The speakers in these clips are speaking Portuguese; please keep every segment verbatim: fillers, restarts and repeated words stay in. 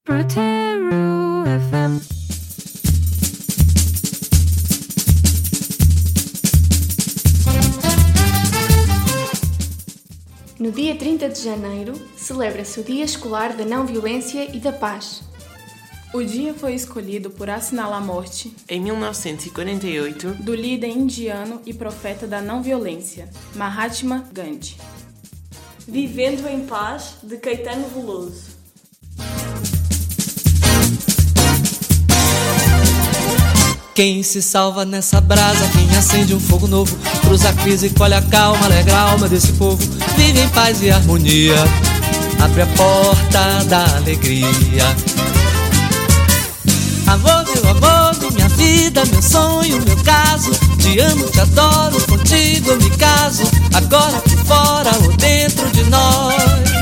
Proteru F M. No dia trinta de janeiro, celebra-se o Dia Escolar da Não Violência e da Paz. O dia foi escolhido por assinalar a morte, em mil novecentos e quarenta e oito, do líder indiano e profeta da não violência, Mahatma Gandhi. Vivendo em Paz, de Caetano Veloso. Quem se salva nessa brasa, quem acende um fogo novo, cruza a crise, colhe a calma, alegra a alma desse povo, vive em paz e harmonia, abre a porta da alegria. Amor, meu amor, minha vida, meu sonho, meu caso, te amo, te adoro, contigo eu me caso, agora aqui fora ou dentro de nós.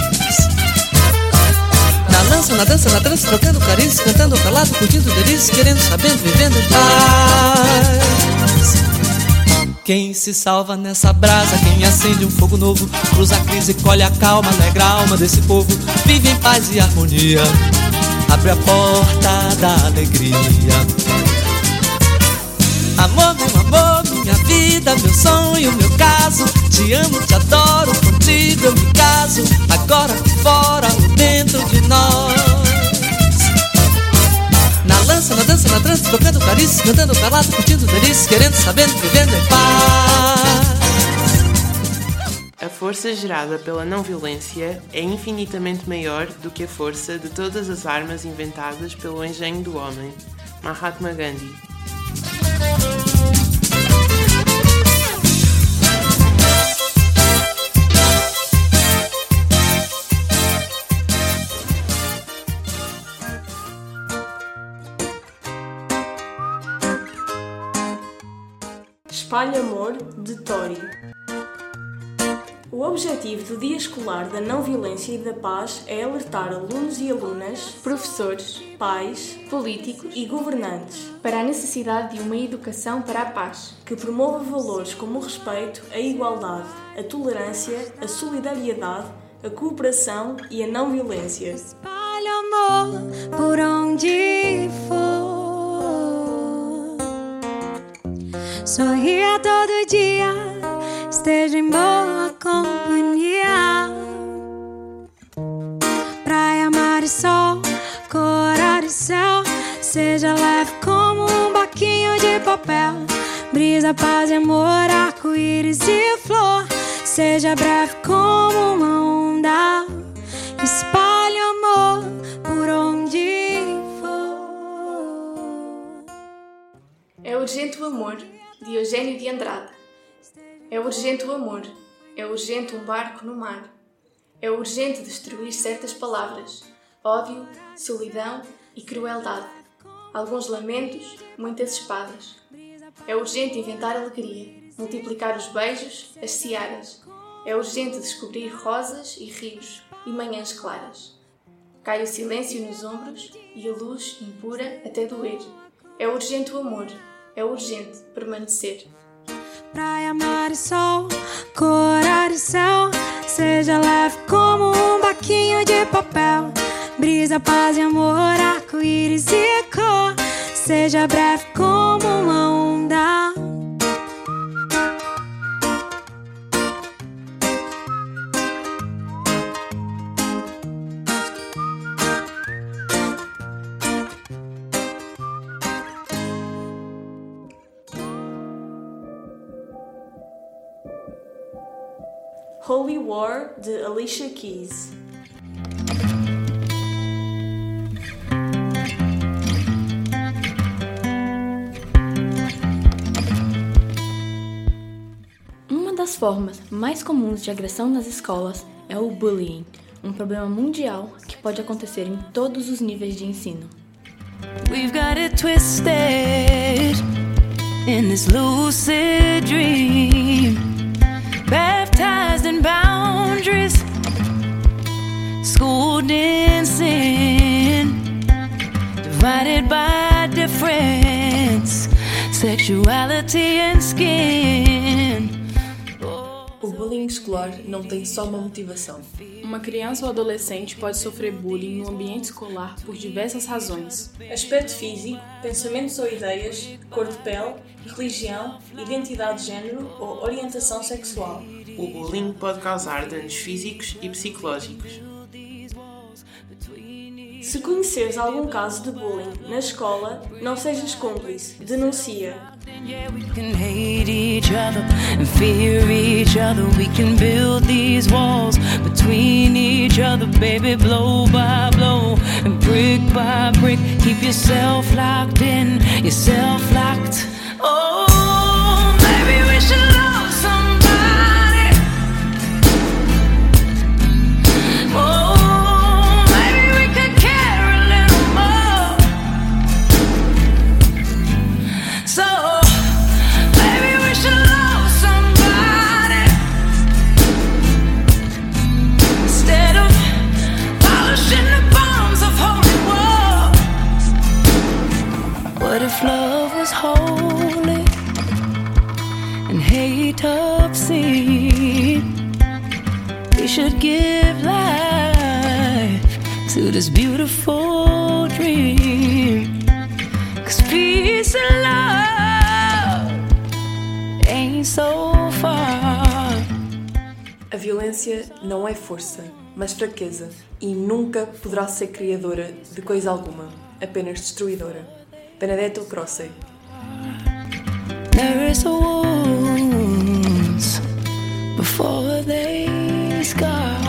Na lança, na dança, na trança, trocando carícias, cantando calado, curtindo delícias, querendo, sabendo, vivendo em paz. Quem se salva nessa brasa, quem acende um fogo novo, cruza a crise, colhe a calma, alegra a alma desse povo, vive em paz e harmonia, abre a porta da alegria. Amor, meu amor, minha vida, meu sonho, meu caso, te amo, te adoro, contigo eu me caso, agora fora ou dentro de nós. Na lança, na dança, na trança, tocando carícias, cantando calado, curtindo delícias, querendo, sabendo, vivendo em paz. A força gerada pela não-violência é infinitamente maior do que a força de todas as armas inventadas pelo engenho do homem. Mahatma Gandhi. Espalhe Amor, de Tori. O objetivo do Dia Escolar da Não Violência e da Paz é alertar alunos e alunas, professores, pais, políticos e governantes para a necessidade de uma educação para a paz, que promova valores como o respeito, a igualdade, a tolerância, a solidariedade, a cooperação e a não violência. Espalhe amor por onde for. Sorria todo dia, esteja em boa companhia. Praia, mar e sol, cor e céu, seja leve como um barquinho de papel. Brisa, paz e amor, arco-íris e flor, seja breve como uma onda. Espalhe amor por onde for. É urgente o amor, de Eugênio de Andrade. É urgente o amor, é urgente um barco no mar. É urgente destruir certas palavras, ódio, solidão e crueldade. Alguns lamentos, muitas espadas. É urgente inventar alegria, multiplicar os beijos, as searas. É urgente descobrir rosas e rios e manhãs claras. Cai o silêncio nos ombros e a luz impura até doer. É urgente o amor, é urgente permanecer. Praia, mar e sol, cor e céu, seja leve como um barquinho de papel. Brisa, paz e amor, arco-íris e cor, seja breve como uma onda. Holy War, de Alicia Keys. Uma das formas mais comuns de agressão nas escolas é o bullying, um problema mundial que pode acontecer em todos os níveis de ensino. We've got it twisted in this lucid dream, baptized in boundaries, schooled in sin, divided by difference, sexuality and skin. O bullying escolar não tem só uma motivação. Uma criança ou adolescente pode sofrer bullying no ambiente escolar por diversas razões. Aspecto físico, pensamentos ou ideias, cor de pele, religião, identidade de género ou orientação sexual. O bullying pode causar danos físicos e psicológicos. Se conheceres algum caso de bullying na escola, não sejas cúmplice, denuncia. Yeah, we can hate each other and fear each other. We can build these walls between each other, baby, blow by blow and brick by brick. Keep yourself locked in, yourself locked. Oh, maybe we should love somebody. Oh, maybe we could care a little more. So what if love was holy and hate obscene? We should give life to this beautiful dream. 'Cause peace and love ain't so far. A violência não é força, mas fraqueza, e nunca poderá ser criadora de coisa alguma, apenas destruidora. Benedetto Croce. There is a wounds before they scar.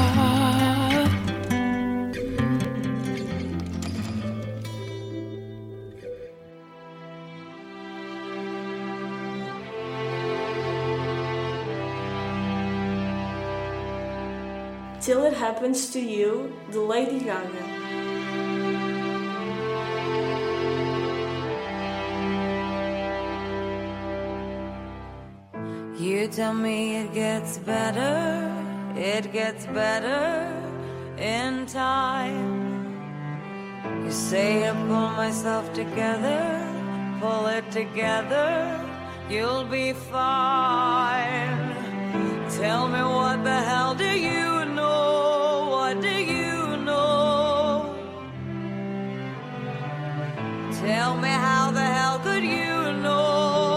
Till It Happens to You, de Lady Gaga. You tell me it gets better, it gets better in time. You say I pull myself together, pull it together, you'll be fine. Tell me what the hell do you know, what do you know? Tell me how the hell could you know?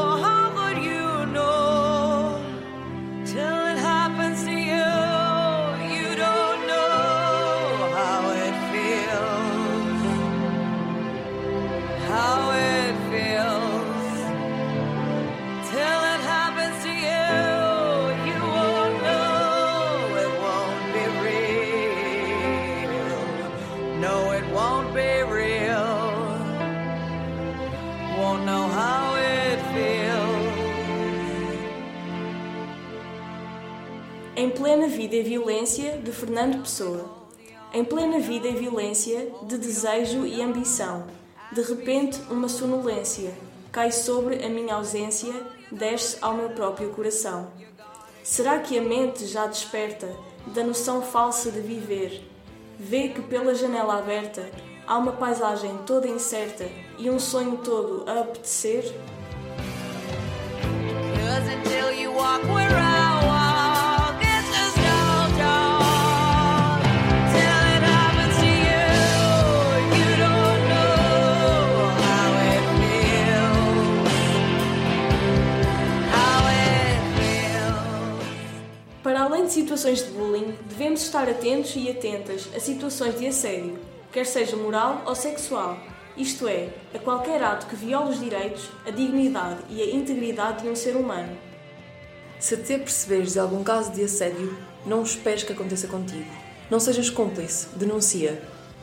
Em Plena Vida e Violência, de Fernando Pessoa. Em plena vida e violência, de desejo e ambição, de repente uma sonolência cai sobre a minha ausência, desce ao meu próprio coração. Será que a mente já desperta da noção falsa de viver? Vê que pela janela aberta há uma paisagem toda incerta e um sonho todo a apetecer? Para além de situações de bullying, devemos estar atentos e atentas a situações de assédio, quer seja moral ou sexual, isto é, a qualquer ato que viola os direitos, a dignidade e a integridade de um ser humano. Se te aperceberes de algum caso de assédio, não esperes que aconteça contigo. Não sejas cúmplice, denuncia.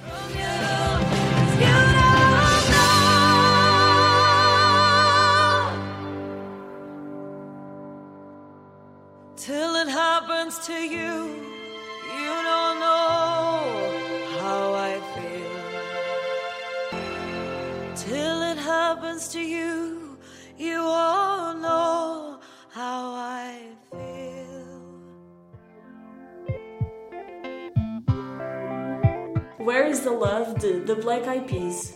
Till it happens to you, you don't know how I feel. Till it happens to you, you all know how I feel. Where is the Love, de The Black Eyed Peas.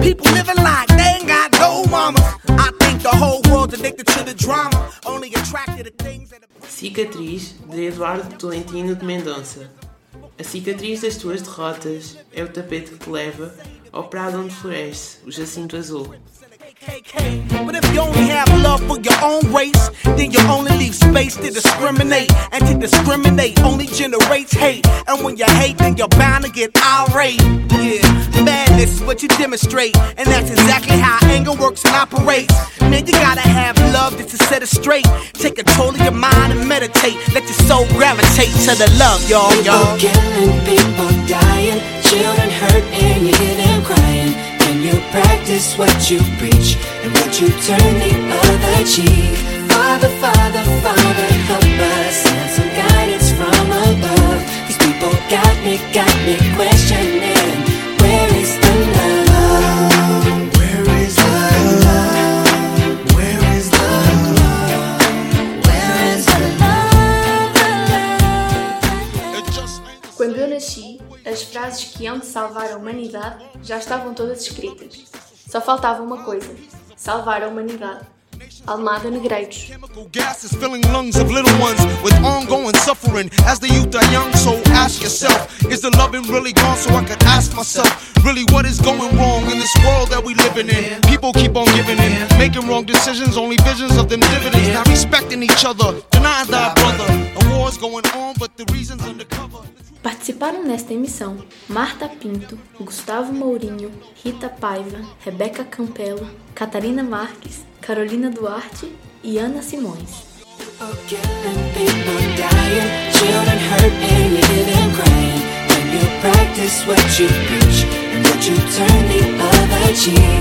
people living like they ain't got no mama. I think the whole world's addicted to the drama, only attracted to things that... Cicatriz, de Eduardo Tolentino de Mendonça. A cicatriz das tuas derrotas é o tapete que te leva ao prado onde floresce o jacinto azul. But if you only have love for your own race, then you only leave space to discriminate. And to discriminate only generates hate. And when you hate, then you're bound to get irate. Yeah, madness is what you demonstrate. And that's exactly how anger works and operates. Man, you gotta have love just to set it straight. Take control of your mind and meditate. Let your soul gravitate to the love, y'all, y'all. People killing, people dying, children hurt and you hear them crying. When you practice what you preach, and would you turn the other cheek? Father, Father, Father, help us, and some guidance from above. These people got me, got me questioning, where is the love? Where is the love? Where is the love? Where is the love? Quando eu nasci, as frases que hão de salvar a humanidade já estavam todas escritas. Só faltava uma coisa: salvar a humanidade. Almada Negreiros. Chemical gases filling lungs of little ones with ongoing suffering as the youth are young. So ask yourself, is the loving really gone? So I could ask myself, really what is going wrong in this world that we living in? People keep on giving in, making wrong decisions, only visions of them dividends. Not respecting each other, denying thy brother. A war's going on, but the reason's undercover. Participaram nesta emissão Marta Pinto, Gustavo Mourinho, Rita Paiva, Rebeca Campelo, Catarina Marques, Carolina Duarte e Ana Simões. People killing, people dying, children hurt and you hear them crying. When you practice what you preach, and would you turn the other cheek?